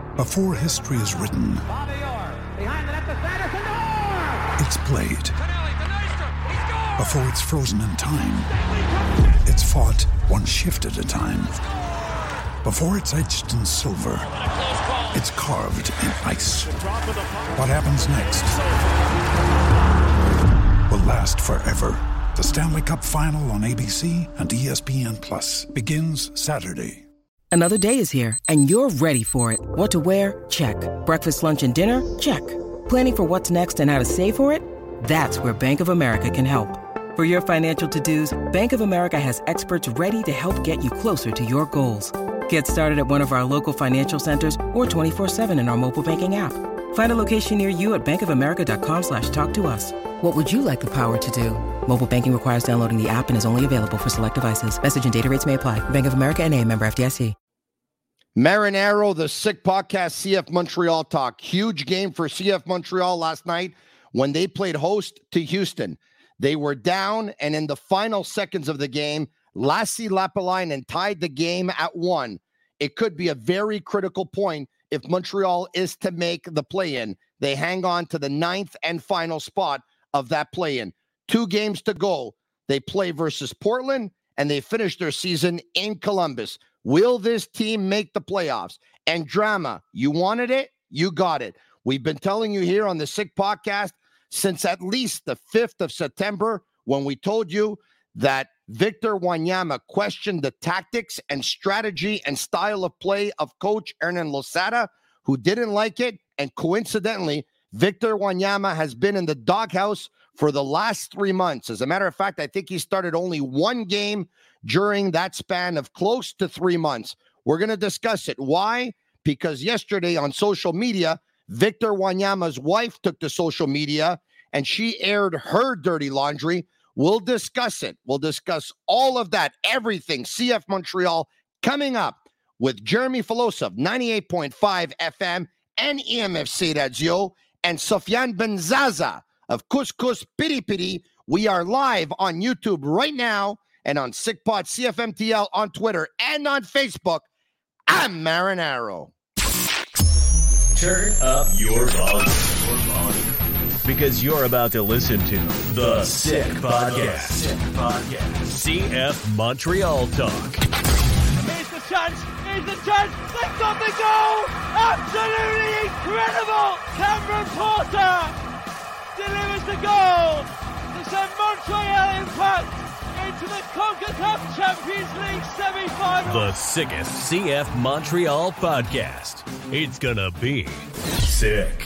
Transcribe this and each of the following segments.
Before history is written, it's played. Before it's frozen in time, it's fought one shift at a time. Before it's etched in silver, it's carved in ice. What happens next will last forever. The Stanley Cup Final on ABC and ESPN Plus begins Saturday. Another day is here, and you're ready for it. What to wear? Check. Breakfast, lunch, and dinner? Check. Planning for what's next and how to save for it? That's where Bank of America can help. For your financial to-dos, Bank of America has experts ready to help get you closer to your goals. Get started at one of our local financial centers or 24/7 in our mobile banking app. Find a location near you at bankofamerica.com/talktous. What would you like the power to do? Mobile banking requires downloading the app and is only available for select devices. Message and data rates may apply. Bank of America N.A., member FDIC. Marinaro, the Sick Podcast, CF Montreal Talk. Huge game for CF Montreal last night when they played host to Houston. They were down, and in the final seconds of the game, Lassi Lappalainen tied the game at 1. It could be a very critical point if Montreal is to make the play-in. They hang on to the 9th and final spot of that play-in. 2 games to go. They play versus Portland, and they finish their season in Columbus. Will this team make the playoffs? And drama, you wanted it, you got it. We've been telling you here on the Sick Podcast since at least the 5th of September when we told you that Victor Wanyama questioned the tactics and strategy and style of play of coach Hernan Losada, who didn't like it. And coincidentally, Victor Wanyama has been in the doghouse for the last 3 months. As a matter of fact, I think he started only 1 game during that span of close to 3 months. We're going to discuss it. Why? Because yesterday on social media, Victor Wanyama's wife took to social media and she aired her dirty laundry. We'll discuss it. We'll discuss all of that, everything CF Montreal coming up with Jeremy Filosa of 98.5 FM and EMFC Radio and Sofiane Benzaza of Couscous Piri Piri. We are live on YouTube right now and on SickPod CFMTL on Twitter and on Facebook. I'm Marinaro. Turn up your volume. Because you're about to listen to The Sick Podcast. CF Montreal Talk. Here's the chance. They've got the goal. Absolutely incredible. Cameron Porter delivers the goal to send Montreal Impact into the CONCACAF Champions League semi-final. The sickest CF Montreal podcast. It's gonna be sick.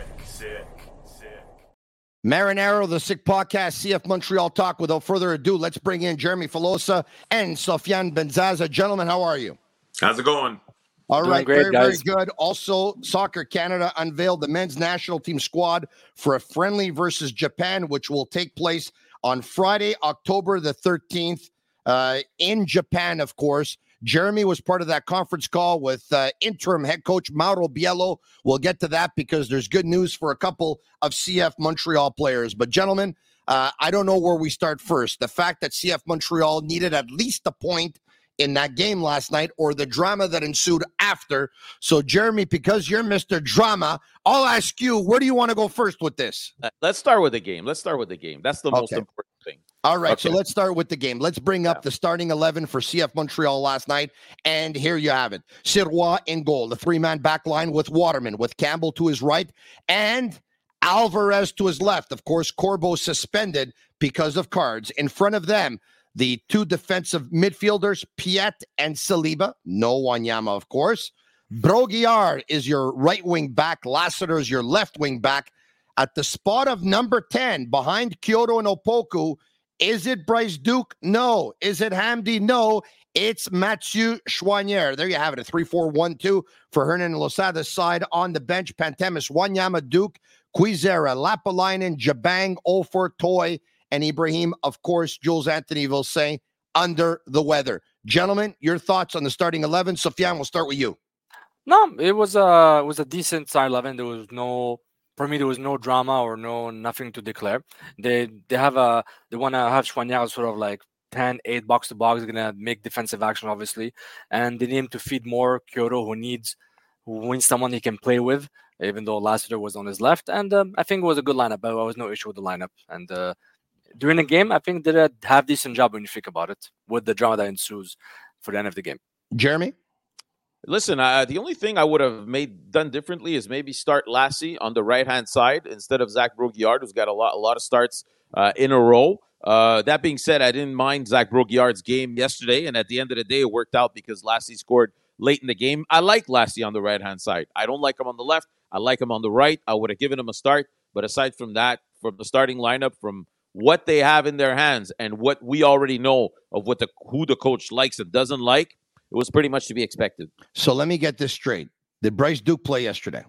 Marinaro, the Sick Podcast, CF Montreal Talk. Without further ado, let's bring in Jeremy Filosa and Sofiane Benzaza. Gentlemen, how are you? How's it going? All right, great, very guys. good. Also, Soccer Canada unveiled the men's national team squad for a friendly versus Japan, which will take place on Friday, October the 13th, in Japan, of course. Jeremy was part of that conference call with interim head coach Mauro Biello. We'll get to that because there's good news for a couple of CF Montreal players. But, gentlemen, I don't know where we start first. The fact that CF Montreal needed at least a point in that game last night or the drama that ensued after. So, Jeremy, because you're Mr. Drama, I'll ask you, where do you want to go first with this? Let's start with the game. That's the most important thing. All right, so let's start with the game. Let's bring up the starting 11 for CF Montreal last night, and here you have it. Sirois in goal, the 3-man back line with Waterman, with Campbell to his right, and Alvarez to his left. Of course, Corbo suspended because of cards. In front of them, the 2 defensive midfielders, Piet and Saliba. No Wanyama, of course. Broguiard is your right wing back. Lassiter is your left wing back. At the spot of number 10, behind Kyoto and Opoku, is it Bryce Duke? No. Is it Hamdi? No. It's Mathieu Choinière. There you have it, a 3-4-1-2 for Hernan Losada's side. On the bench, Pantemis, Wanyama, Duke, Quizera, Lappalainen, Jabang, Ofer, Toy, and Ibrahim. Of course, Jules Anthony will say under the weather. Gentlemen, your thoughts on the starting 11. Sofiane, we'll start with you. No, it was a decent starting 11. There was no drama or nothing to declare. They want to have Choinière sort of like 10-8 box to box. They're gonna make defensive action, obviously, and they need him to feed more Kyoto, who who wins someone he can play with, even though Lassiter was on his left. And I think it was a good lineup. There was no issue with the lineup. And during the game, I think they did a half-decent job when you think about it, with the drama that ensues for the end of the game. Jeremy? Listen, the only thing I would have done differently is maybe start Lassie on the right-hand side instead of Zach Brault-Guillard, who's got a lot of starts in a row. That being said, I didn't mind Zach Brault-Guillard's game yesterday, and at the end of the day, it worked out because Lassie scored late in the game. I like Lassie on the right-hand side. I don't like him on the left. I like him on the right. I would have given him a start, but aside from that, from the starting lineup, from what they have in their hands and what we already know of who the coach likes and doesn't like, it was pretty much to be expected. So let me get this straight. Did Bryce Duke play yesterday?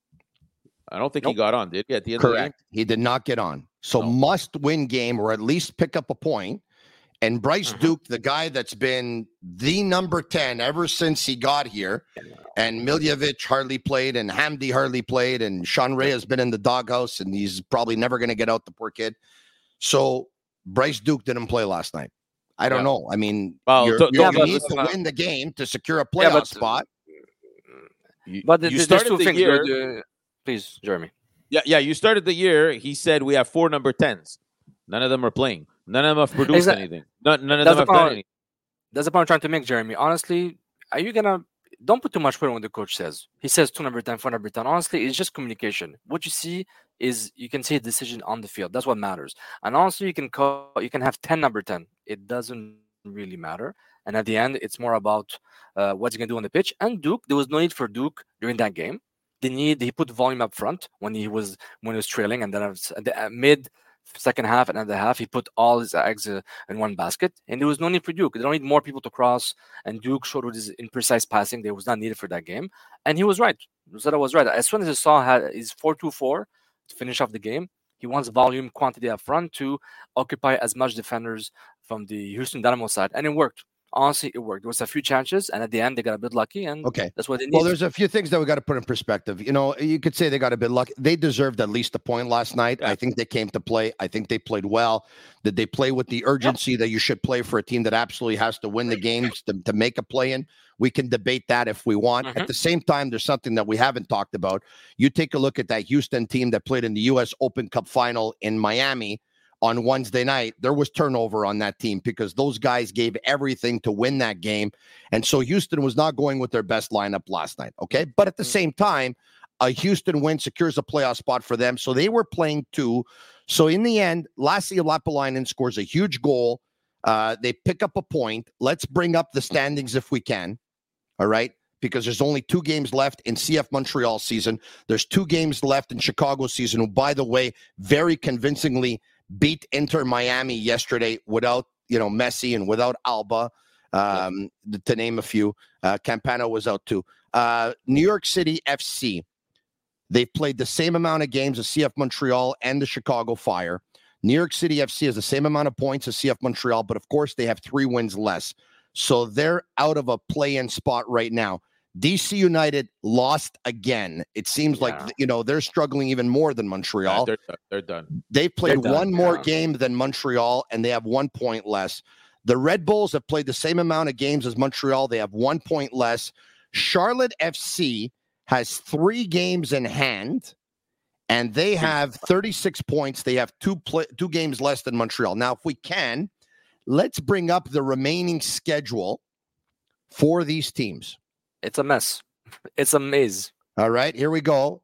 I don't think he got on, did he? At the end Correct. of the game? He did not get on. So must-win game or at least pick up a point. And Bryce Duke, the guy that's been the number 10 ever since he got here, and Miljevic hardly played, and Hamdi hardly played, and Sean Ray has been in the doghouse, and he's probably never going to get out, the poor kid. So Bryce Duke didn't play last night. I don't know. I mean, you need to win the game to secure a playoff spot. But you started the year. Please, Jeremy. Yeah. You started the year. He said we have 4 number 10s. None of them are playing. None of them have produced anything. None of them have done anything. That's the point I'm trying to make, Jeremy. Honestly, are you gonna? Don't put too much weight on what the coach says. He says 2 number 10, 4 number 10. Honestly, it's just communication. What you see is you can see a decision on the field. That's what matters. And honestly, you can have 10 number 10. It doesn't really matter. And at the end, it's more about what he's gonna do on the pitch. And Duke, there was no need for Duke during that game. He put volume up front when he was trailing, and then at the mid second half and at the half, he put all his eggs in one basket, and there was no need for Duke. They don't need more people to cross, and Duke showed with his imprecise passing that was not needed for that game, and he was right. Rosetta was right. As soon as he saw his 4-2-4 to finish off the game, he wants volume, quantity up front to occupy as much defenders from the Houston Dynamo side, and it worked. Honestly, it worked. There was a few chances, and at the end, they got a bit lucky, and that's what they needed. Well, there's a few things that we got to put in perspective. You know, you could say they got a bit lucky. They deserved at least a point last night. Yeah. I think they came to play. I think they played well. Did they play with the urgency that you should play for a team that absolutely has to win the games to make a play-in? We can debate that if we want. At the same time, there's something that we haven't talked about. You take a look at that Houston team that played in the U.S. Open Cup final in Miami on Wednesday night. There was turnover on that team because those guys gave everything to win that game. And so Houston was not going with their best lineup last night. Okay. But at the same time, a Houston win secures a playoff spot for them. So they were playing too. So in the end, Lassi Lapalainen scores a huge goal. They pick up a point. Let's bring up the standings if we can. All right. Because there's only 2 games left in CF Montreal season. There's 2 games left in Chicago season, who, by the way, very convincingly beat Inter Miami yesterday without, Messi and without Alba, to name a few. Campana was out too. New York City FC, they've played the same amount of games as CF Montreal and the Chicago Fire. New York City FC has the same amount of points as CF Montreal, but of course they have 3 wins less. So they're out of a play-in spot right now. DC United lost again. It seems like, they're struggling even more than Montreal. They're done. They've played one more game than Montreal, and they have 1 point less. The Red Bulls have played the same amount of games as Montreal. They have 1 point less. Charlotte FC has 3 games in hand, and they have 36 points. They have 2 games less than Montreal. Now, if we can, let's bring up the remaining schedule for these teams. It's a mess. It's a maze. All right, here we go.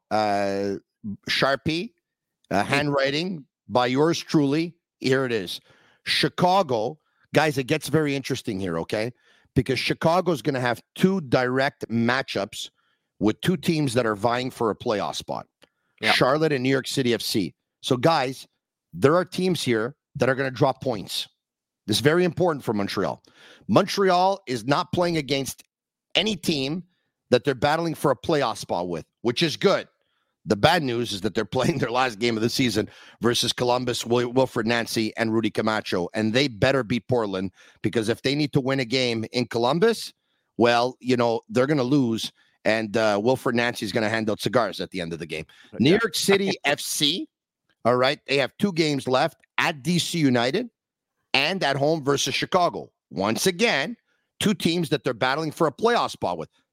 Sharpie, handwriting by yours truly. Here it is. Chicago. Guys, it gets very interesting here, okay? Because Chicago's going to have 2 direct matchups with 2 teams that are vying for a playoff spot. Yeah. Charlotte and New York City FC. So, guys, there are teams here that are going to drop points. This is very important for Montreal. Montreal is not playing against any team that they're battling for a playoff spot with, which is good. The bad news is that they're playing their last game of the season versus Columbus, Wilfred Nancy, and Rudy Camacho, and they better beat Portland, because if they need to win a game in Columbus, well, they're going to lose, and Wilfred Nancy is going to hand out cigars at the end of the game. New York City FC, all right, they have 2 games left at DC United and at home versus Chicago. Once again, 2 teams that they're battling for a playoff spot with.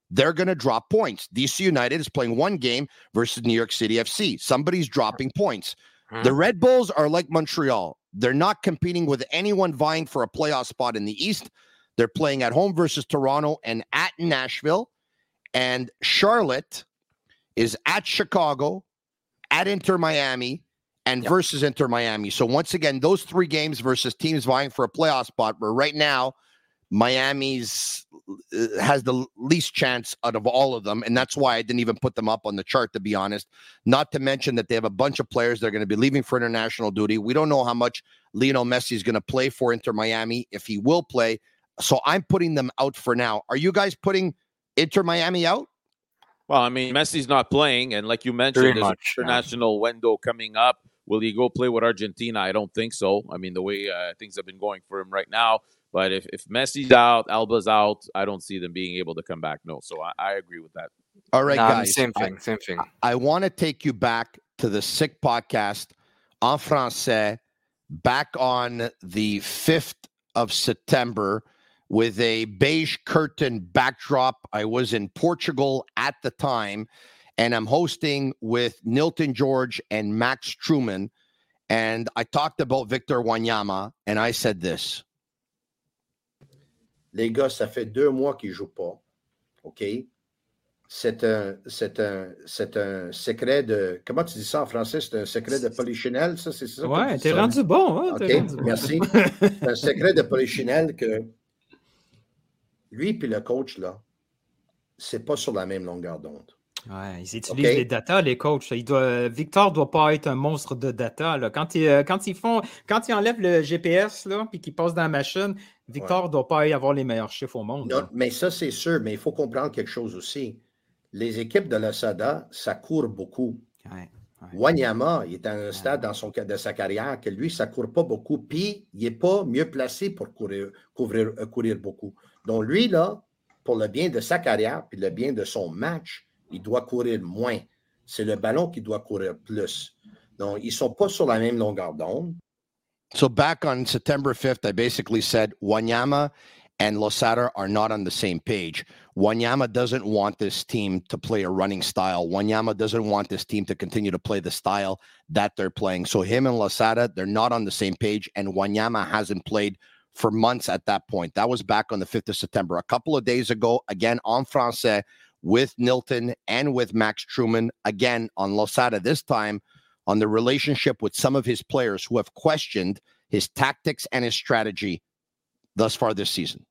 they're going to drop points. DC United is playing one game versus New York City FC. Somebody's dropping points. The Red Bulls are like Montreal. They're not competing with anyone vying for a playoff spot in the East. They're playing at home versus Toronto and at Nashville. And Charlotte is at Chicago, at Inter Miami, and versus Inter Miami. So once again, those 3 games versus teams vying for a playoff spot, where right now Miami's has the least chance out of all of them, and that's why I didn't even put them up on the chart, to be honest. Not to mention that they have a bunch of players that are going to be leaving for international duty. We don't know how much Lionel Messi is going to play for Inter Miami, if he will play. So I'm putting them out for now. Are you guys putting Inter Miami out? Well, I mean, Messi's not playing, and like you mentioned, there's an international window coming up. Will he go play with Argentina? I don't think so. I mean, the way things have been going for him right now. But if Messi's out, Alba's out, I don't see them being able to come back. No, so I agree with that. All right, guys. Same thing. I want to take you back to the Sick Podcast en français back on the 5th of September with a beige curtain backdrop. I was in Portugal at the time, and I'm hosting with Nilton George and Max Truman. And I talked about Victor Wanyama, and I said this. Les gars, ça fait 2 mois qu'ils ne jouent pas. OK? C'est un secret de... Comment tu dis ça en français? C'est un secret de polichinelle, ça? C'est ça? Ouais, t'es rendu bon. Hein? OK, merci. C'est un secret de polichinelle que lui et le coach, là, c'est pas sur la même longueur d'onde. Ouais, ils utilisent les data, les coachs. Victor ne doit pas être un monstre de data. Là. Quand ils enlèvent le GPS et qu'ils passent dans la machine, Victor ne doit pas avoir les meilleurs chiffres au monde. Non, mais ça, c'est sûr. Mais il faut comprendre quelque chose aussi. Les équipes de la SADA, ça court beaucoup. Wanyama, il est à un stade de sa carrière que lui, ça ne court pas beaucoup. Puis, il n'est pas mieux placé pour courir beaucoup. Donc, lui, là, pour le bien de sa carrière puis le bien de son match, il doit courir moins. C'est le ballon qui doit courir plus. Donc, ils ne sont pas sur la même longueur d'onde. So back on September 5th, I basically said Wanyama and Losada are not on the same page. Wanyama doesn't want this team to play a running style. Wanyama doesn't want this team to continue to play the style that they're playing. So him and Losada, they're not on the same page, and Wanyama hasn't played for months at that point. That was back on the 5th of September. A couple of days ago, again, en français, with Nilton and with Max Truman, again on Losada, this time on the relationship with some of his players who have questioned his tactics and his strategy thus far this season.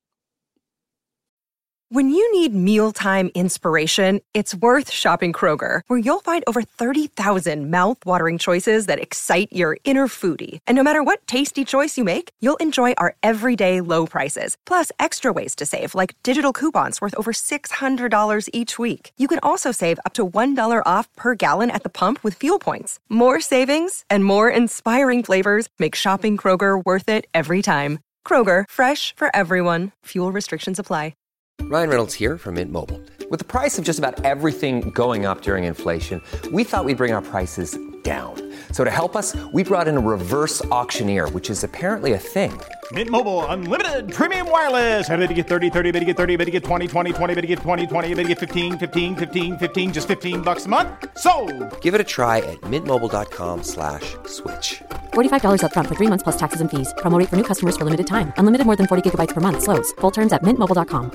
When you need mealtime inspiration, it's worth shopping Kroger, where you'll find over 30,000 mouth-watering choices that excite your inner foodie. And no matter what tasty choice you make, you'll enjoy our everyday low prices, plus extra ways to save, like digital coupons worth over $600 each week. You can also save up to $1 off per gallon at the pump with fuel points. More savings and more inspiring flavors make shopping Kroger worth it every time. Kroger, fresh for everyone. Fuel restrictions apply. Ryan Reynolds here from Mint Mobile. With the price of just about everything going up during inflation, we thought we'd bring our prices down. So to help us, we brought in a reverse auctioneer, which is apparently a thing. Mint Mobile Unlimited Premium Wireless. How to get 30, 30, bit to get 30, bit to get 20, 20, 20, bit to get 20, 20, bit to get 15, 15, 15, 15, just $15 a month? Sold! Give it a try at mintmobile.com/switch. $45 up front for 3 months plus taxes and fees. Promo rate for new customers for limited time. Unlimited more than 40 gigabytes per month. Slows full terms at mintmobile.com.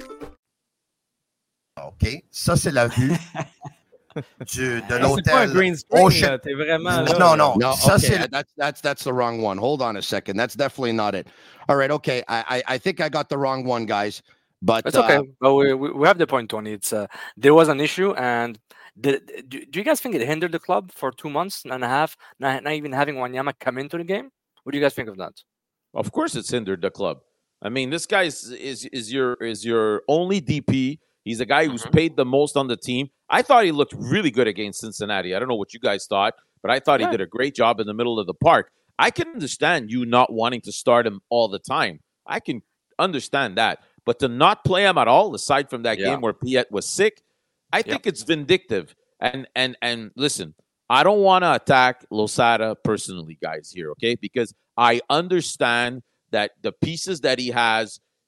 OK, ça c'est la vue de l'hôtel. C'est pas un green screen, t'es vraiment là. No, ça okay. That's the wrong one. Hold on a second. That's definitely not it. All right, okay. I think I got the wrong one, guys. But it's okay. But we have the point, Tony. It's there was an issue, and do you guys think it hindered the club for 2 months and a half, not even having Wanyama come into the game? What do you guys think of that? Of course, it's hindered the club. I mean, this guy is your only DP. He's a guy who's paid the most on the team. I thought he looked really good against Cincinnati. I don't know what you guys thought, but I thought he did a great job in the middle of the park. I can understand you not wanting to start him all the time. I can understand that. But to not play him at all, aside from that game where Piet was sick, I think it's vindictive. And listen, I don't want to attack Losada personally, guys, here, okay? Because I understand that the pieces that he has,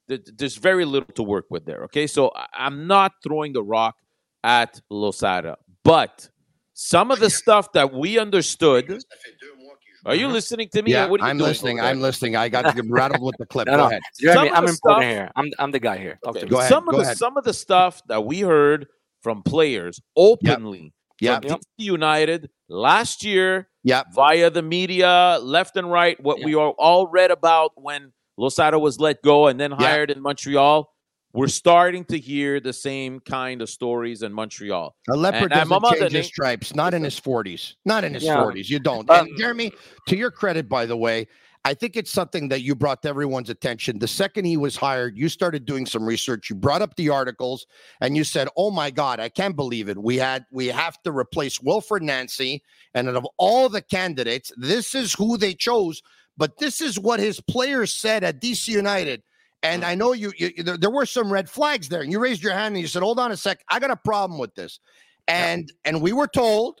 there's very little to work with there. Okay, so I'm not throwing the rock at Losada, but some of the stuff that we understood. Are you listening to me? Yeah, what are you I'm doing listening. I'm listening. I got rattled with the clip. No, Go ahead. Jeremy, I'm important here. I'm the guy here. Okay. Go ahead. Some of the stuff that we heard from players openly from DC United last year via the media, left and right, what we all read about when Losada was let go and then hired in Montreal. We're starting to hear the same kind of stories in Montreal. A leopard doesn't change his stripes, not in his 40s. Not in his 40s. You don't. And Jeremy, to your credit, by the way, I think it's something that you brought to everyone's attention. The second he was hired, you started doing some research. You brought up the articles, and you said, oh, my God, I can't believe it. We have to replace Wilfred Nancy, and out of all the candidates, this is who they chose. But this is what his players said at DC United. And I know there were some red flags there, and you raised your hand and you said, hold on a sec, I got a problem with this. And we were told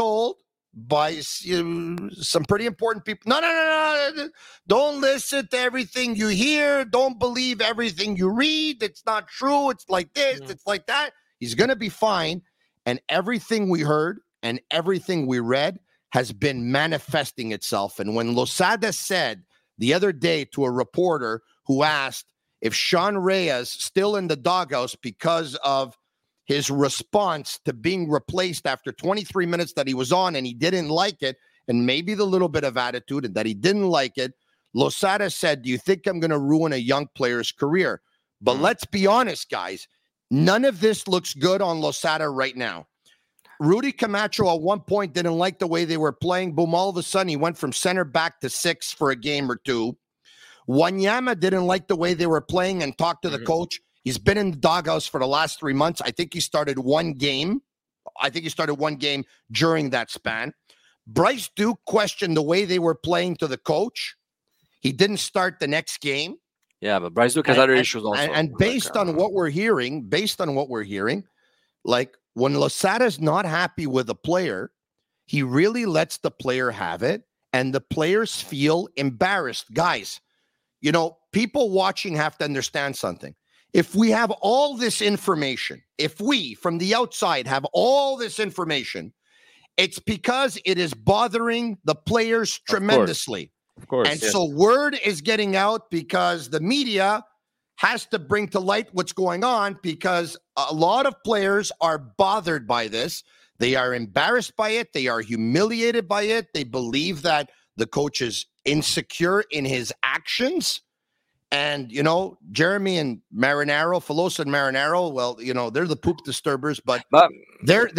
by some pretty important people, no, don't listen to everything you hear. Don't believe everything you read. It's not true. It's like this. It's like that. He's going to be fine. And everything we heard and everything we read has been manifesting itself. And when Losada said the other day to a reporter who asked if Sean Reyes still in the doghouse because of his response to being replaced after 23 minutes that he was on and he didn't like it, and maybe the little bit of attitude and that he didn't like it, Losada said, do you think I'm going to ruin a young player's career? But let's be honest, guys, none of this looks good on Losada right now. Rudy Camacho at one point didn't like the way they were playing. Boom, all of a sudden he went from center back to 6 for a game or two. Wanyama didn't like the way they were playing and talked to the coach. He's been in the doghouse for the last 3 months. I think he started one game. During that span. Bryce Duke questioned the way they were playing to the coach. He didn't start the next game. Yeah, but Bryce Duke has other issues also. And based on what we're hearing, like when Losada's not happy with a player, he really lets the player have it, and the players feel embarrassed. Guys, people watching have to understand something. If we have all this information, if we from the outside have all this information, it's because it is bothering the players tremendously. Of course. And so word is getting out because the media has to bring to light what's going on, because a lot of players are bothered by this. They are embarrassed by it. They are humiliated by it. They believe that the coach is insecure in his actions. And, Jeremy and Marinaro, Filosa and Marinaro, well, they're the poop disturbers, but they're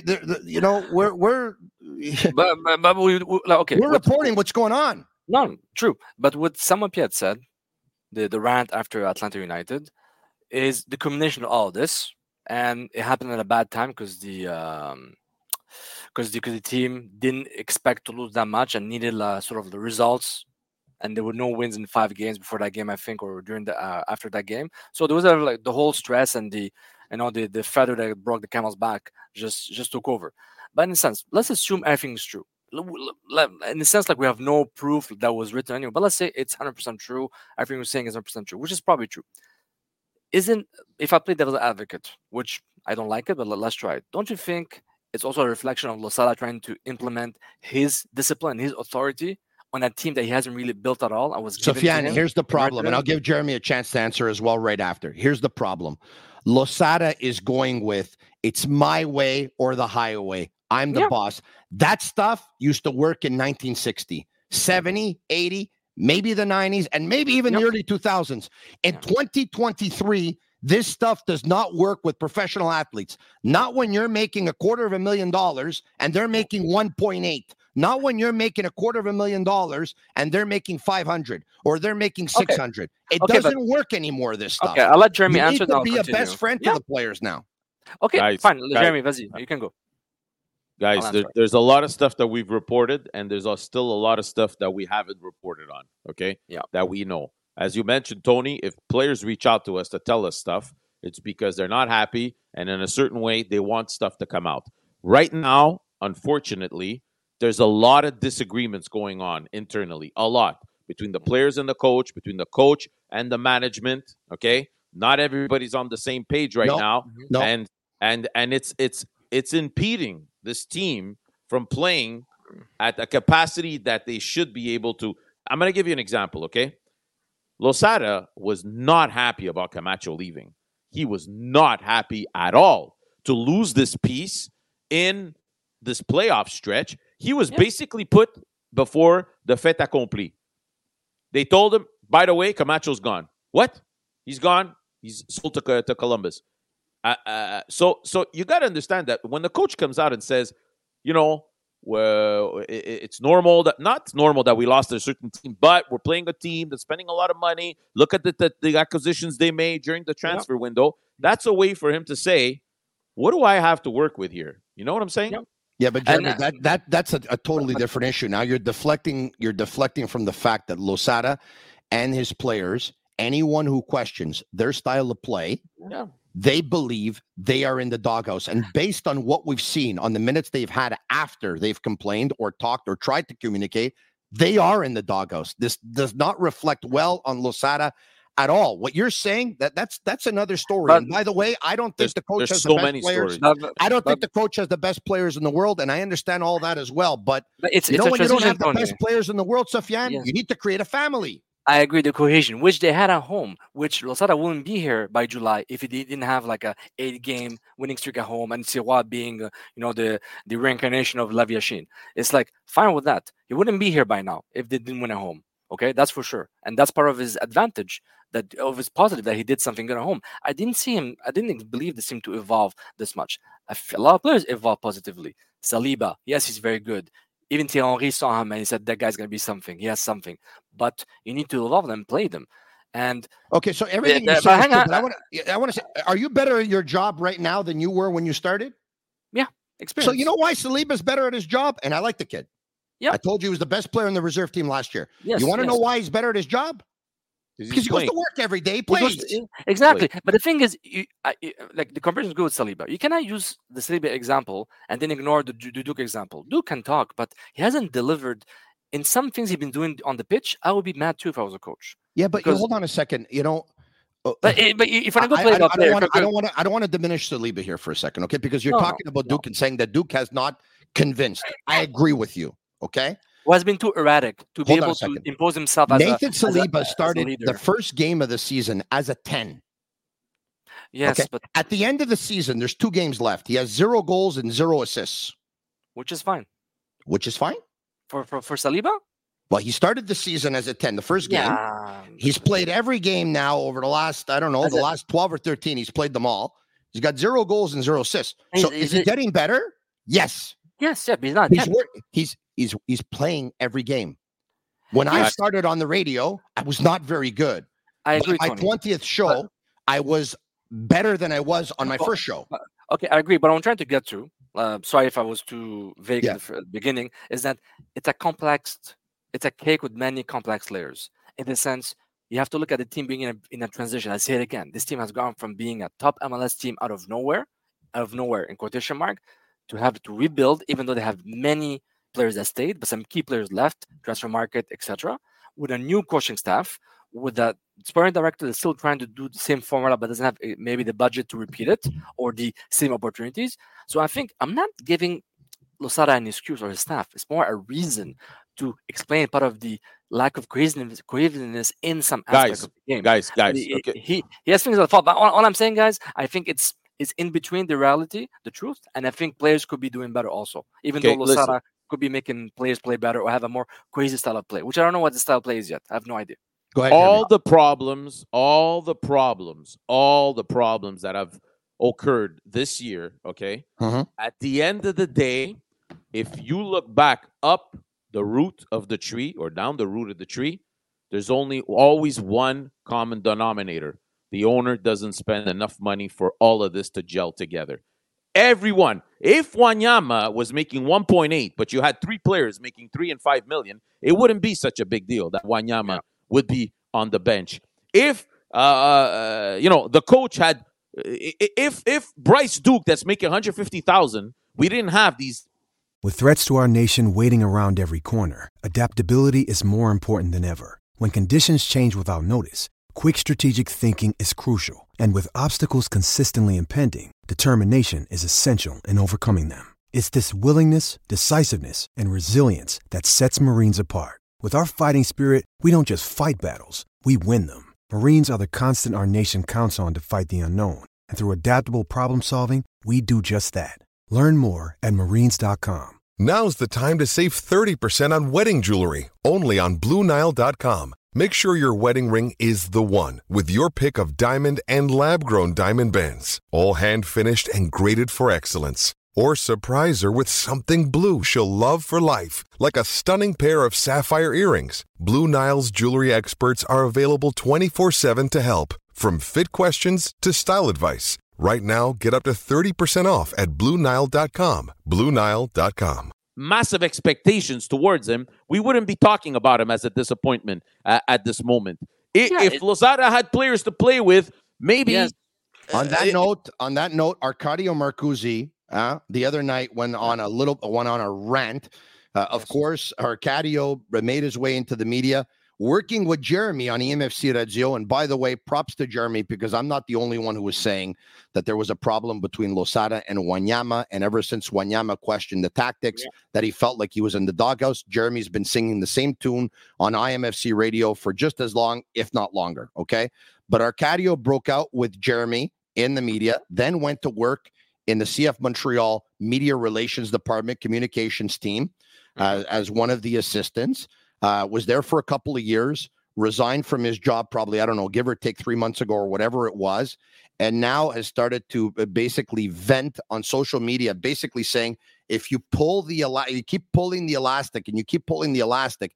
we're reporting what's going on. No, true. But what Samuel Piet said, the rant after Atlanta United, is the combination of all of this, and it happened at a bad time because the team didn't expect to lose that much and needed sort of the results. And there were no wins in 5 games before that game, I think, or during after that game. So there was the whole stress and the feather that broke the camel's back just took over. But in a sense, let's assume everything is true. In a sense, we have no proof that was written anyway. But let's say it's 100% true. Everything we're saying is 100% true, which is probably true. If I play devil's advocate, which I don't like it, but let's try it. Don't you think it's also a reflection of Losada trying to implement his discipline, his authority on a team that he hasn't really built at all? Sofiane, here's the problem, and I'll give Jeremy a chance to answer as well right after. Here's the problem. Losada is going with, it's my way or the highway. I'm the boss. That stuff used to work in 1960, 70, 80, maybe the 90s, and maybe even the early 2000s. In 2023, this stuff does not work with professional athletes. Not when you're making $250,000 and they're making 1.8. Not when you're making $250,000 and they're making 500 or they're making 600. It doesn't work anymore, this stuff. Okay, I'll let Jeremy answer that. You need to be a best friend to the players now. Okay, guys, fine. Jeremy, vas-y, you can go. Guys, there's a lot of stuff that we've reported, and there's still a lot of stuff that we haven't reported on, okay? Yeah. That we know. As you mentioned, Tony, if players reach out to us to tell us stuff, it's because they're not happy, and in a certain way, they want stuff to come out. Right now, unfortunately, there's a lot of disagreements going on internally, a lot, between the players and the coach, between the coach and the management. Okay, not everybody's on the same page right now, and it's impeding this team from playing at a capacity that they should be able to. I'm going to give you an example. Okay, Losada was not happy about Camacho leaving. He was not happy at all to lose this piece in this playoff stretch. He was basically put before the fait accompli. They told him, by the way, Camacho's gone. What? He's gone. He's sold to Columbus. So you got to understand that when the coach comes out and says, well, it's normal not normal that we lost a certain team, but we're playing a team that's spending a lot of money. Look at the acquisitions they made during the transfer window. That's a way for him to say, what do I have to work with here? You know what I'm saying? Yeah, but Jeremy, that's a totally different issue. Now you're deflecting from the fact that Losada and his players, anyone who questions their style of play, they believe they are in the doghouse. And based on what we've seen on the minutes they've had after they've complained or talked or tried to communicate, they are in the doghouse. This does not reflect well on Losada at all. What you're saying, that's another story. And by the way, I don't think the coach has the best players. I don't think the coach has the best players in the world, and I understand all that as well. But when you don't have the best players in the world, Sofiane, you need to create a family. I agree. The cohesion, which they had at home, which Losada wouldn't be here by July if he didn't have like a 8-game winning streak at home, and Sirois being, the reincarnation of La Viachine. It's like fine with that. He wouldn't be here by now if they didn't win at home. Okay, that's for sure, and that's part of his advantage. Of his positive that he did something good at home. I didn't believe this team to evolve this much. A lot of players evolve positively. Saliba, yes, he's very good. Even Thierry Henry saw him and he said that guy's going to be something. He has something, but you need to evolve them and play them. And okay, so everything you said, I want to say, are you better at your job right now than you were when you started? Yeah, experience. So you know why Saliba's better at his job, and I like the kid. Yeah, I told you he was the best player in the reserve team last year. Yes, you want to know why he's better at his job? Because he goes to work every day, plays. Exactly. But the thing is, like the comparison is good with Saliba. You cannot use the Saliba example and then ignore the Duke example. Duke can talk, but he hasn't delivered in some things he's been doing on the pitch. I would be mad too if I was a coach. Yeah, but hold on a second. But if I go play I don't want to diminish Saliba here for a second, okay? Because you're talking about Duke and saying that Duke has not convinced. I agree with you, okay? Well, has been too erratic to be able to impose himself as Nathan Saliba started the first game of the season as a 10. Yes, okay? But at the end of the season, there's 2 games left. He has 0 goals and 0 assists. Which is fine. Which is fine? For Saliba? Well, he started the season as a 10, the first game. He's played every game now over the last, last 12 or 13. He's played them all. He's got 0 goals and 0 assists. So is he getting better? Yes. Yes, yeah, but he's not. He's playing every game. When I started on the radio, I was not very good. I agree. My 20th show, I was better than I was on my first show. Okay, I agree. But what I'm trying to get to, sorry if I was too vague at the beginning, is that it's a cake with many complex layers. In the sense, you have to look at the team being in a transition. I say it again. This team has gone from being a top MLS team out of nowhere in quotation mark, to have to rebuild, even though they have many players that stayed, but some key players left, transfer market, etc. With a new coaching staff, with that sparring director that's still trying to do the same formula, but doesn't have maybe the budget to repeat it or the same opportunities. So I think I'm not giving Losada an excuse or his staff. It's more a reason to explain part of the lack of cohesiveness in some aspects of the game. Guys. Okay. He has things at fault. But all I'm saying, guys, I think it's in between the reality, the truth, and I think players could be doing better also. Even though Losada could be making players play better or have a more crazy style of play, which I don't know what the style of play is yet. I have no idea. Go ahead. All the problems that have occurred this year, okay? At the end of the day, if you look back up the root of the tree or down the root of the tree, there's always one common denominator. The owner doesn't spend enough money for all of this to gel together. Everyone, if Wanyama was making 1.8, but you had 3 players making 3 and 5 million, it wouldn't be such a big deal that Wanyama would be on the bench. If the coach had, if Bryce Duke that's making 150,000, we didn't have these. With threats to our nation waiting around every corner, adaptability is more important than ever. When conditions change without notice, quick strategic thinking is crucial, and with obstacles consistently impending, determination is essential in overcoming them. It's this willingness, decisiveness, and resilience that sets Marines apart. With our fighting spirit, we don't just fight battles, we win them. Marines are the constant our nation counts on to fight the unknown. And through adaptable problem solving, we do just that. Learn more at marines.com. Now's the time to save 30% on wedding jewelry, only on BlueNile.com. Make sure your wedding ring is the one with your pick of diamond and lab-grown diamond bands, all hand-finished and graded for excellence. Or surprise her with something blue she'll love for life, like a stunning pair of sapphire earrings. Blue Nile's jewelry experts are available 24/7 to help, from fit questions to style advice. Right now, get up to 30% off at BlueNile.com. BlueNile.com. Massive expectations towards him. We wouldn't be talking about him as a disappointment at this moment. If Losada had players to play with, maybe. Yes. On that note, Arcadio Marcuzzi the other night went on a rant. Of course, Arcadio made his way into the media, working with Jeremy on EMFC Radio. And by the way, props to Jeremy, because I'm not the only one who was saying that there was a problem between Losada and Wanyama. And ever since Wanyama questioned the tactics, that he felt like he was in the doghouse, Jeremy's been singing the same tune on IMFC Radio for just as long, if not longer. Okay. But Arcadio broke out with Jeremy in the media, then went to work in the CF Montreal Media Relations Department communications team as one of the assistants. Was there for a couple of years, resigned from his job probably, I don't know, give or take 3 months ago or whatever it was, and now has started to basically vent on social media, basically saying, if you you keep pulling the elastic and you keep pulling the elastic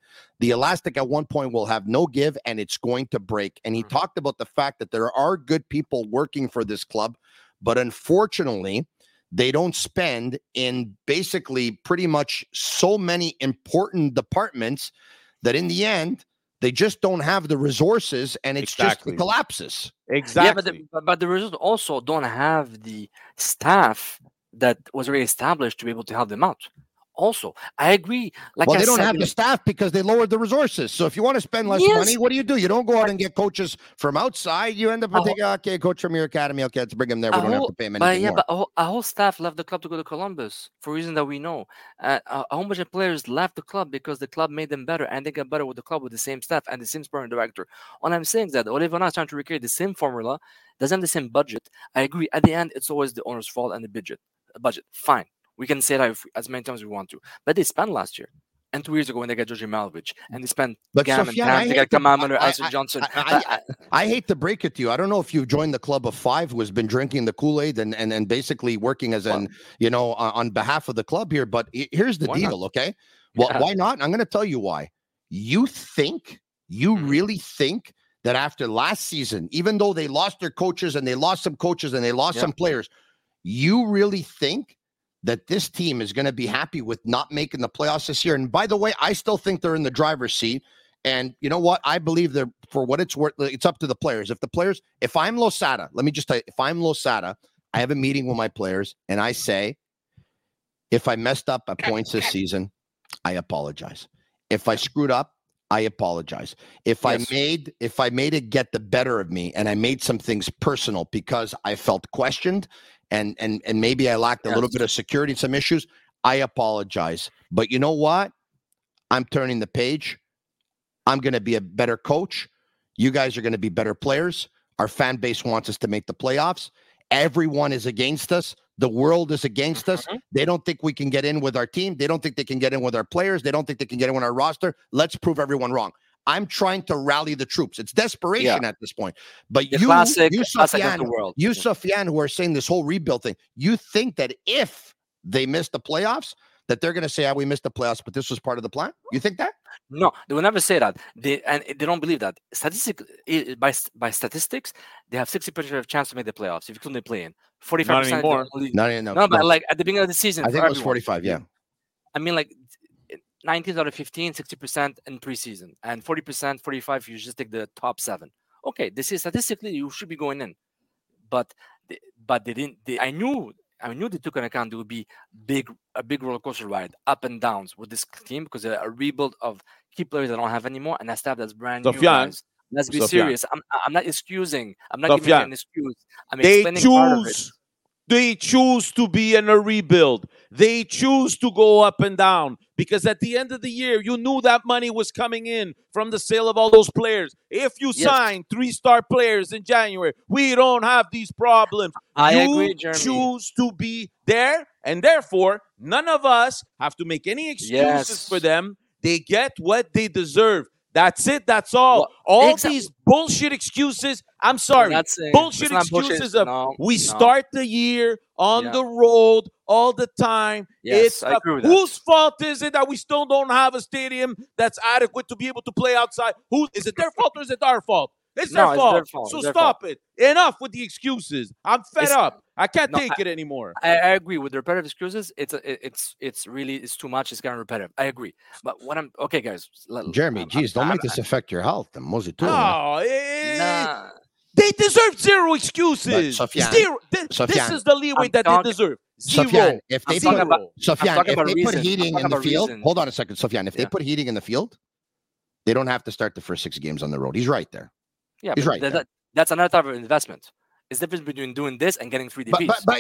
at one point will have no give and it's going to break. And he talked about the fact that there are good people working for this club, but unfortunately, they don't spend in basically pretty much so many important departments that in the end, they just don't have the resources, and it's just collapses. Exactly. Yeah, but the results also don't have the staff that was already established to be able to help them out. Also, I agree. They don't have the staff because they lowered the resources. So if you want to spend less money, what do? You don't go out and get coaches from outside. You end up taking a coach from your academy. Okay, let's bring him there. We don't have to pay him anything more. But a whole staff left the club to go to Columbus for reasons that we know. A whole bunch of players left the club because the club made them better, and they got better with the club with the same staff and the same sporting director. All I'm saying is that Ole Vana is trying to recreate the same formula, doesn't have the same budget. I agree. At the end, it's always the owner's fault and the budget. Fine. We can say that as many times as we want to. But they spent last year. And 2 years ago when they got Georgi Malovic. And they spent Gam and Tam. They got Kamam or Alson Johnson. I hate to break it to you. I don't know if you've joined the club of five who has been drinking the Kool-Aid and basically working as on behalf of the club here. But here's the deal, okay? Well, why not? I'm going to tell you why. You really think that after last season, even though they lost their coaches and they lost some coaches and they lost some players, you really think that this team is going to be happy with not making the playoffs this year? And by the way, I still think they're in the driver's seat. And you know what? I believe they're, for what it's worth, it's up to the players. If I'm Losada, let me just tell you, if I'm Losada, I have a meeting with my players and I say, if I messed up at points this season, I apologize. If I screwed up, I apologize. If I made it get the better of me and I made some things personal because I felt questioned and maybe I lacked a little bit of security and some issues, I apologize. But you know what? I'm turning the page. I'm going to be a better coach. You guys are going to be better players. Our fan base wants us to make the playoffs. Everyone is against us. The world is against us. They don't think we can get in with our team. They don't think they can get in with our players. They don't think they can get in with our roster. Let's prove everyone wrong. I'm trying to rally the troops. It's desperation at this point. But you, Sofiane, who are saying this whole rebuild thing, you think that if they miss the playoffs, that they're going to say, we missed the playoffs, but this was part of the plan? You think that? No, they will never say that. They don't believe that. By statistics, they have 60% of chance to make the playoffs if you couldn't play in. 45%. Not anymore. No, but like at the beginning of the season, I think it was 45. Yeah. I mean, like 19 out of 15, 60% in preseason, and 40%, 45. If you just take the top 7. Okay, this is statistically you should be going in, but they didn't. I knew they took into account there would be a big roller coaster ride, up and downs with this team because a rebuild of key players they don't have anymore, and a staff that's brand new. Let's be Sofiane. serious. I'm not excusing. I'm not giving you an excuse. I'm They explaining part of it. They choose to be in a rebuild. They choose to go up and down because at the end of the year, you knew that money was coming in from the sale of all those players. If you sign 3-star players in January, we don't have these problems. I agree, Jeremy. Choose to be there, and therefore, none of us have to make any excuses for them. They get what they deserve. That's it. That's all. All these bullshit excuses. I'm sorry. Bullshit excuses of we start the year on the road all the time. Yes, I agree with that. Whose fault is it that we still don't have a stadium that's adequate to be able to play outside? Is it their fault or is it our fault? It's their fault. Their fault. So stop it. Enough with the excuses. I'm fed up. I can't take it anymore. I agree with the repetitive excuses. It's really too much. It's kind of repetitive. I agree. But what I'm okay, guys. Jeremy, don't make this affect your health. They deserve zero excuses. Sofiane, this is the leeway that they deserve. Zero. Sofiane, if they put heating in the field, hold on a second, Sofiane. If they put heating in the field, they don't have to start the first 6 games on the road. He's right there. Yeah, he's right. That's another type of investment. It's the difference between doing this and getting 3 DPs. But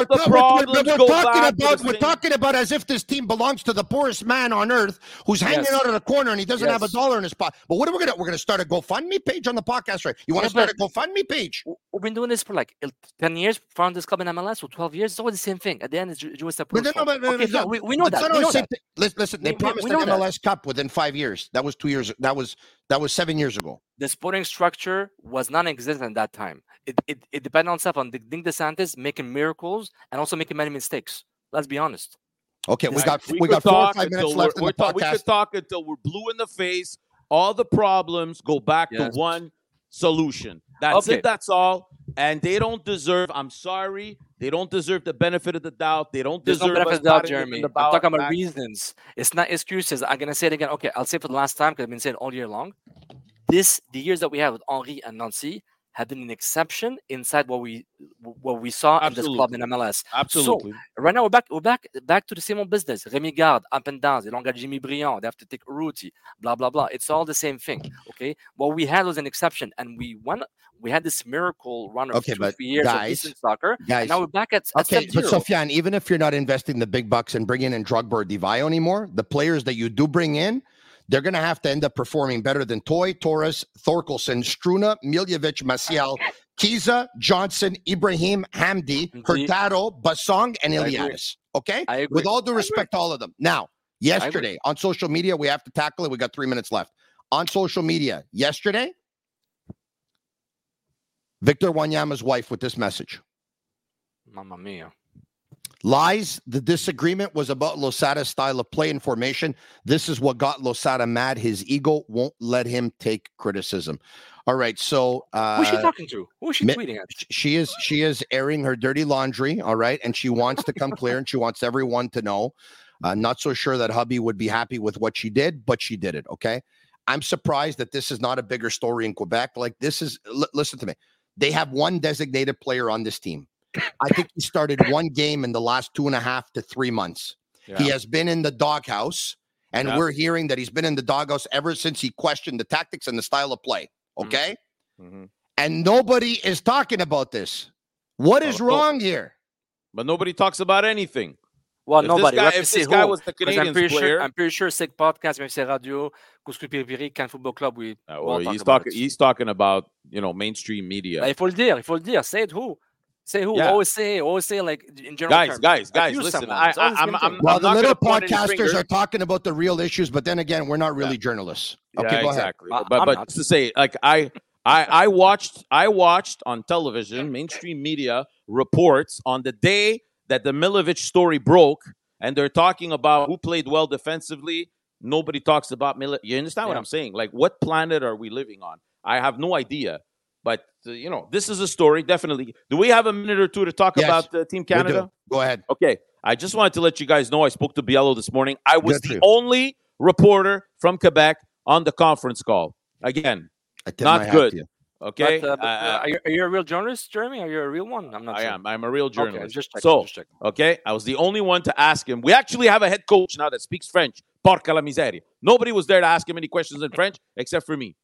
we're talking about as if this team belongs to the poorest man on earth who's hanging out of the corner and he doesn't have a dollar in his pocket. But what are we gonna start a GoFundMe page on the podcast, right? You want to start a GoFundMe page? We've been doing this for like 10 years, found this club in MLS for 12 years. It's always the same thing. At the end, it's just a we know that. Listen, they promised an MLS Cup within 5 years. That was 2 years. That was 7 years ago. The sporting structure was non-existent at that time. It depended on itself on Nick DeSantis making miracles and also making many mistakes. Let's be honest. Okay, we got 4 or 5 minutes left in the podcast. We could talk until we're blue in the face. All the problems go back to one solution. That's it. That's all. And they don't deserve. I'm sorry. They don't deserve the benefit of the doubt. They don't deserve. No benefit of the doubt, Jeremy. I'm talking about reasons. It's not excuses. I'm gonna say it again. Okay, I'll say it for the last time because I've been saying it all year long. The years that we have with Henry and Nancy have been an exception inside what we saw in this club in MLS. Absolutely. So right now we're back to the same old business. Rémi Garde, up and down. They don't got Jimmy Briand. They have to take Urruti. Blah blah blah. It's all the same thing. Okay. What we had was an exception, and we had this miracle run of 2-3 years of decent soccer. Guys, and now we're back at step zero. But Sofiane, even if you're not investing the big bucks and bringing in Drogba or Divayo anymore, the players that you do bring in, they're going to have to end up performing better than Toy, Torres, Thorkelson, Struna, Miljevic, Maciel, Kiza, Johnson, Ibrahim, Hamdi, Hurtado, Basong, and Iliadis. Okay? I agree. With all due respect to all of them. Now, yesterday on social media, we have to tackle it. We got 3 minutes left. On social media, yesterday, Victor Wanyama's wife with this message. Mamma mia. Lies. The disagreement was about Losada's style of play and formation. This is what got Losada mad. His ego won't let him take criticism. All right. So who's she talking to? Who is she tweeting at? She is airing her dirty laundry. All right. And she wants to come clear and she wants everyone to know. Not so sure that hubby would be happy with what she did, but she did it. Okay. I'm surprised that this is not a bigger story in Quebec. Like this is, listen to me. They have one designated player on this team. I think he started one game in the last 2.5 to 3 months. Yeah. He has been in the doghouse, and we're hearing that he's been in the doghouse ever since he questioned the tactics and the style of play. Okay? Mm-hmm. And nobody is talking about this. What is wrong here? But nobody talks about anything. Well, nobody. If this guy was the Canadian player, I'm pretty sure Sig Podcast, même Radio, Couscous Piri, Can Football Club, he's talking about mainstream media. Il faut le dire. Say it who? Say who? Yeah. Always say like in general terms. Guys, listen. The little podcasters are talking about the real issues, but then again, we're not really journalists. Okay, go exactly. Ahead. But to say, like I watched on television, mainstream media reports on the day that the Miljevic story broke, and they're talking about who played well defensively. Nobody talks about Miljevic. You understand what I'm saying? Like, what planet are we living on? I have no idea. But, this is a story, definitely. Do we have a minute or two to talk about Team Canada? Go ahead. Okay. I just wanted to let you guys know I spoke to Biello this morning. I was the only reporter from Quebec on the conference call. Again, not good. Okay. But, are you a real journalist, Jeremy? Are you a real one? I'm not sure. I am. I'm a real journalist. Okay, just check. Okay. I was the only one to ask him. We actually have a head coach now that speaks French. Porca la miseria. Nobody was there to ask him any questions in French except for me.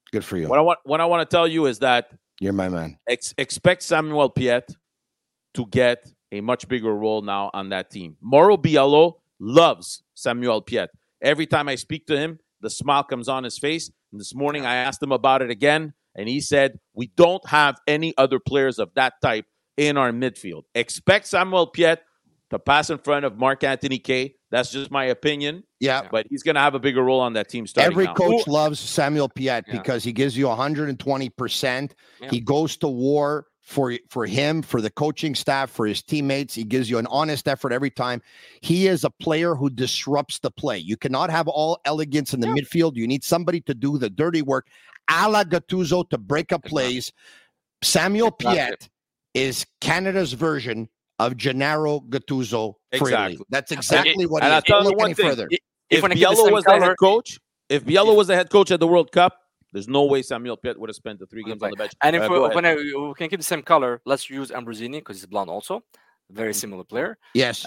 Good for you. What I want to tell you is that you're my man. Expect Samuel Piette to get a much bigger role now on that team. Mauro Biello loves Samuel Piette. Every time I speak to him, the smile comes on his face. And this morning I asked him about it again, and he said, we don't have any other players of that type in our midfield. Expect Samuel Piette to pass in front of Marc-Anthony Kaye. That's just my opinion. Yeah. But he's going to have a bigger role on that team starting Every now. coach loves Samuel Piette because he gives you 120%. Yeah. He goes to war for him, for the coaching staff, for his teammates. He gives you an honest effort every time. He is a player who disrupts the play. You cannot have all elegance in the midfield. You need somebody to do the dirty work, a la Gattuso, to break up plays. Samuel Piette is Canada's version of Gennaro Gattuso. Exactly. That's exactly what he is. I'll tell you one thing. If Biello was the head coach, was the head coach at the World Cup, there's no way Samuel Piette would have spent the 3 games on the bench. And if we can keep the same color, let's use Ambrosini because he's blonde also. Very similar player. Yes.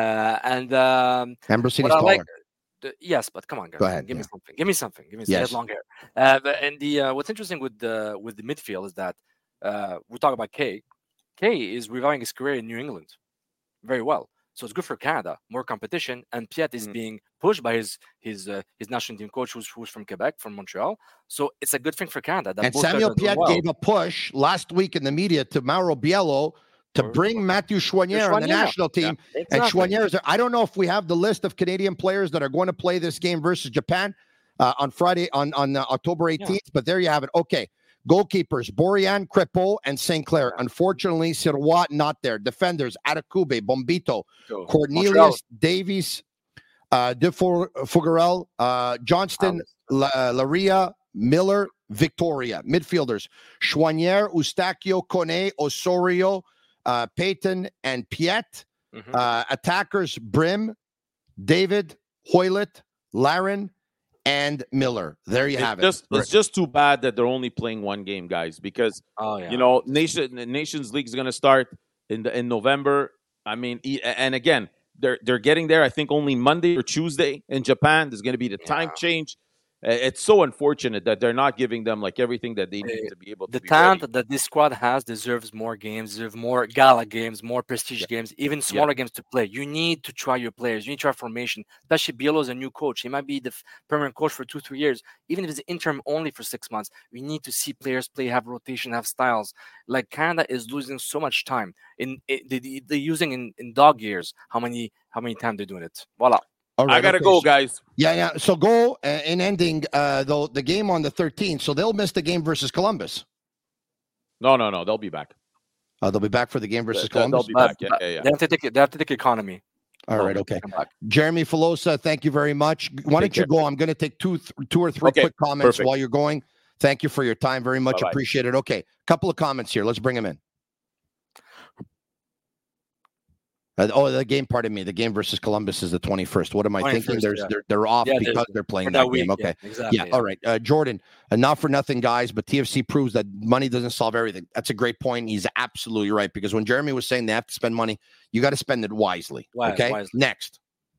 Ambrosini's taller. Yes, but come on, guys. Go ahead. Give me something. Give me something. He has long hair. And what's interesting with the midfield is that we talk about Kaye. Kaye is reviving his career in New England very well. So it's good for Canada, more competition, and Piette is being pushed by his national team coach, who's from Quebec, from Montreal. So it's a good thing for Canada. And Samuel Piette gave a push last week in the media to Mauro Biello to bring Matthew Choinière on the national team. Yeah, exactly. And Choinière is there. I don't know if we have the list of Canadian players that are going to play this game versus Japan on Friday, on October 18th, but there you have it. Okay. Goalkeepers, Borian, Crépeau, and St. Clair. Unfortunately, Sirois not there. Defenders, Arakube, Bombito, Cornelius, Montreal. Davies, De Fougerel, Johnston, Laria, Miller, Victoria. Midfielders, Choinière, Eustachio, Kone, Osorio, Payton, and Piette. Attackers, Brim, David, Hoylett, Larin, and Miller. There you have it. It's just too bad that they're only playing one game, guys, because Nations League is going to start in November. I mean, and again, they're getting there. I think only Monday or Tuesday in Japan. There's going to be the time change. It's so unfortunate that they're not giving them like everything that they need to be able to. The talent that this squad has deserves more games, deserves more gala games, more prestige games, even smaller games to play. You need to try your players. You need to try formation. Especially Biello is a new coach. He might be the permanent coach for 2-3 years. Even if it's interim only for 6 months, we need to see players play, have rotation, have styles. Like Canada is losing so much time. They're using in dog years. How many times they're doing it? Voila. Right, I gotta go, guys. Yeah. So go in ending though the game on the 13th. So they'll miss the game versus Columbus. No. They'll be back. They'll be back for the game versus Columbus. They'll be back. Yeah. They have to take economy. All right. Okay. Jeremy Filosa, thank you very much. Why don't you go? I'm going to take two or three quick comments while you're going. Thank you for your time. Very much appreciated. Okay. Couple of comments here. Let's bring them in. The game, pardon me. The game versus Columbus is the 21st. What am I thinking? They're off because they're playing that game. Okay. Yeah, exactly. All right. Jordan, not for nothing, guys, but TFC proves that money doesn't solve everything. That's a great point. He's absolutely right, because when Jeremy was saying they have to spend money, you got to spend it wisely. Okay. Wisely. Next.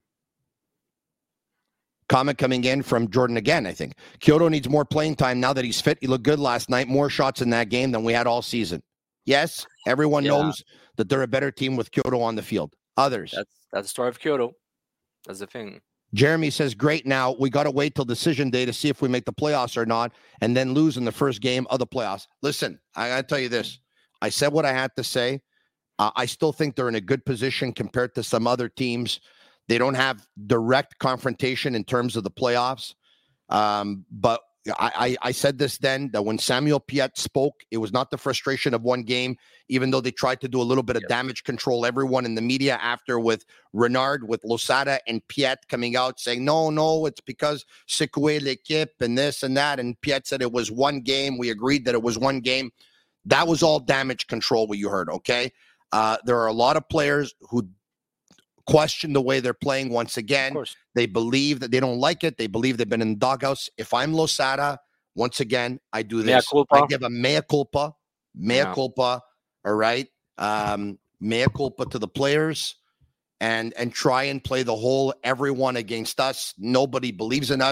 Comment coming in from Jordan again, I think. Kyoto needs more playing time now that he's fit. He looked good last night. More shots in that game than we had all season. Yes, everyone knows that they're a better team with Kyoto on the field. Others. That's the story of Kyoto. That's the thing. Jeremy says, great. Now we got to wait till decision day to see if we make the playoffs or not, and then lose in the first game of the playoffs. Listen, I got to tell you this. I said what I had to say. I still think they're in a good position compared to some other teams. They don't have direct confrontation in terms of the playoffs. But I said this then, that when Samuel Piette spoke, it was not the frustration of one game, even though they tried to do a little bit of damage control. Everyone in the media after, with Renard, with Losada and Piette coming out saying, no, it's because secouer l'équipe and this and that. And Piette said it was one game. We agreed that it was one game. That was all damage control, what you heard, okay? There are a lot of players who question the way they're playing once again. They believe that they don't like it. They believe they've been in the doghouse. If I'm Losada, once again, I do this. I give a mea culpa. All right. Mea culpa to the players and try and play the whole everyone against us. Nobody believes in us.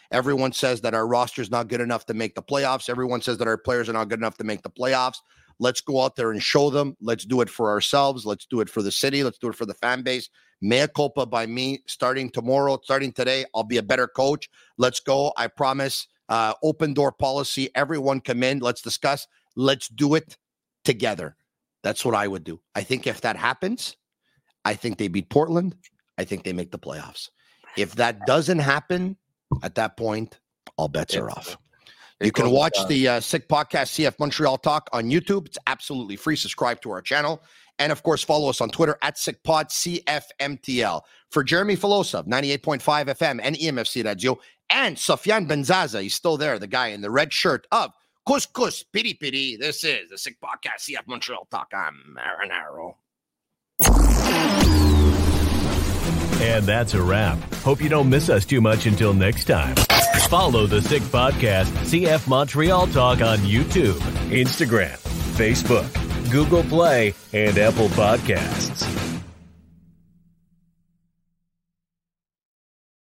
Everyone says that our roster is not good enough to make the playoffs. Everyone says that our players are not good enough to make the playoffs. Let's go out there and show them. Let's do it for ourselves. Let's do it for the city. Let's do it for the fan base. Mea culpa by me. Starting tomorrow, starting today, I'll be a better coach. Let's go. I promise. Open door policy. Everyone come in. Let's discuss. Let's do it together. That's what I would do. I think if that happens, I think they beat Portland. I think they make the playoffs. If that doesn't happen, at that point, all bets are off. You can watch the Sick Podcast CF Montreal Talk on YouTube. It's absolutely free. Subscribe to our channel. And, of course, follow us on Twitter at SickPodCFMTL. For Jeremy Filosa, 98.5 FM and EMFC Radio, and Sofiane Benzaza, he's still there, the guy in the red shirt of Couscous Piri Piri. This is the Sick Podcast CF Montreal Talk. I'm Marinaro. And that's a wrap. Hope you don't miss us too much until next time. Follow the Sick Podcast CF Montreal Talk on YouTube, Instagram, Facebook, Google Play, and Apple Podcasts.